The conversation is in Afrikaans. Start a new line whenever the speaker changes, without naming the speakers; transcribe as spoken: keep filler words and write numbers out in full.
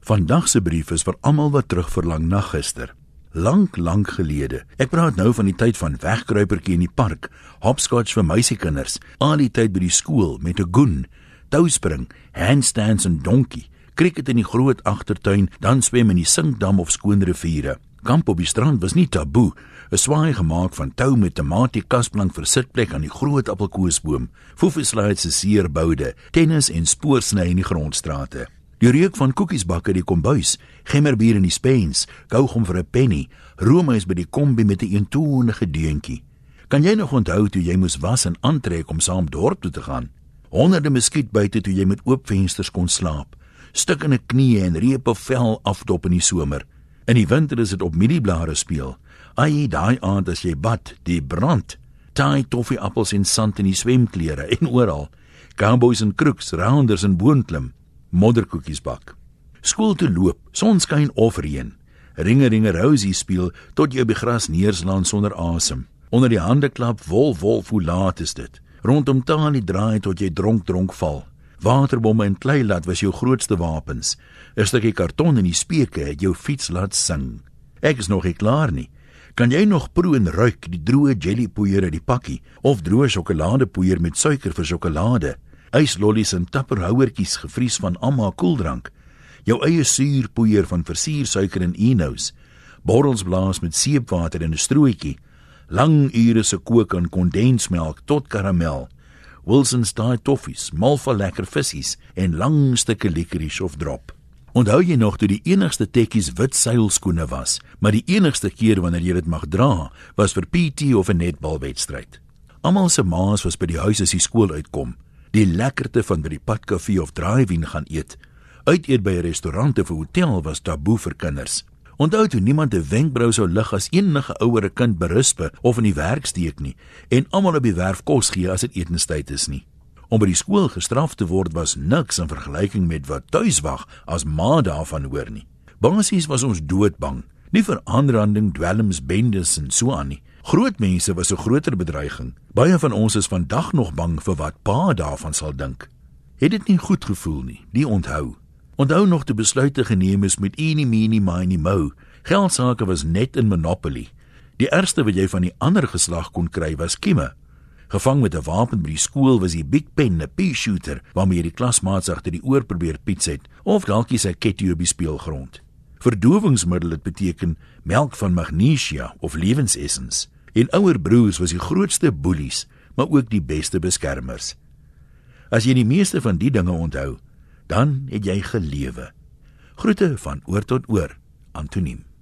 Vandag se brief is vir almal wat terugverlang na gister. Lank, lank gelede. Ek praat nou van die tyd van wegkruipertjie in die park, hopscotch vir meisiekinders, al die tyd by die skool met 'n goen, touspring, handstands en donkie, cricket in die groot agtertuin, dan swem in die Sinkdam of skoon riviere. Kamp op die strand was nie taboe, 'n swaai gemaak van tou met tamatie kasplank vir sitplek aan die groot appelkoesboom, foefeslides se seerboude, tennis en spoorsny in die grondstrate. Die reuk van koekiesbak uit die kombuis, gemmerbier in die spens, kaugom vir 'n penny, roomys by die kombi met 'n eentonige deuntjie. Kan jy nog onthou toe jy moes was en aantrek om saam dorp toe te gaan? Honderde muskietbuite toe jy met oop vensters kon slaap, stukkende knieë en repe vel afdop in die somer. In die winter is dit op mielieblare speel. Ai, daai aand as jy bad, die brand, taai toffieappels en sand in die swemklere en oral, cowboys en kroeks, rounders en boonklim, modderkoekies bak. Skool toe loop, sonskyn of reën, ringe ringe rousie speel tot jy op die gras neerslaan sonder asem. Onder die hande klap, wolf wolf, hoe laat is dit? Rondom talie draai tot jy dronk dronk val. Waterbomme en kleilat was jou grootste wapens. 'n Stukkie karton in die speke het jou fiets laat sing. Ek is nog nie klaar nie. Kan jy nog proe en ruik die droë jellypoeier uit die pakkie of droë sjokoladepoeier met suiker vir sjokolade? Yslollies en tapperhouertjies gevries van Amma koeldrank. Jou eie suurpoeier van versiersuiker en Enos. Borrels blaas met seepwater en 'n strooitjie. Lang ure se kook aan kondensmelk tot karamel. Wilson's Thai toffies, Malva lekker vissies en lang stukke licorice of drop. Onthou jy nog toe die enigste tekkies wit seilskoene was, maar die enigste keer wanneer jy dit mag dra, was vir P T of 'n netbalwedstryd. Almal se maas was by die huis as die skool uitkom. Die lekkerte van by die padkafee of drive-in gaan eet. Uit eet by 'n restaurant of 'n hotel was taboe vir kinders. Onthou toe niemand 'n wenkbrau sou lig as enige ouer kind berispe of in die werk steek nie, en almal op die werf kos gee as dit etenstyd is nie. Om by die skool gestraf te word was niks in vergelyking met wat tuiswag as ma daarvan hoor nie. Basies was ons doodbang, nie vir aanranding, dwelms, bendes en so aan nie. Groot mense was 'n groter bedreiging. Baie van ons is vandag nog bang vir wat pa daarvan sal dink. Het dit nie goed gevoel nie, die onthou. Onthou nog te besluite geneem is met eenie meenie miny mo. Geldsake was net in Monopoly. Die ergste wat jy van die ander geslag kon kry was kieme. Gevang met 'n wapen by die skool was die Big Pen, 'n pea-shooter, waarmee jy die klasmaats agter die oor probeer piets het, of dalkie sy ketty op die speelgrond. Verdowingsmiddel het beteken melk van magnesia of lewensessens. En ouer broers was die grootste boelies, maar ook die beste beskermers. As jy die meeste van die dinge onthou, dan het jy gelewe. Groete van oor tot oor, Antoniem.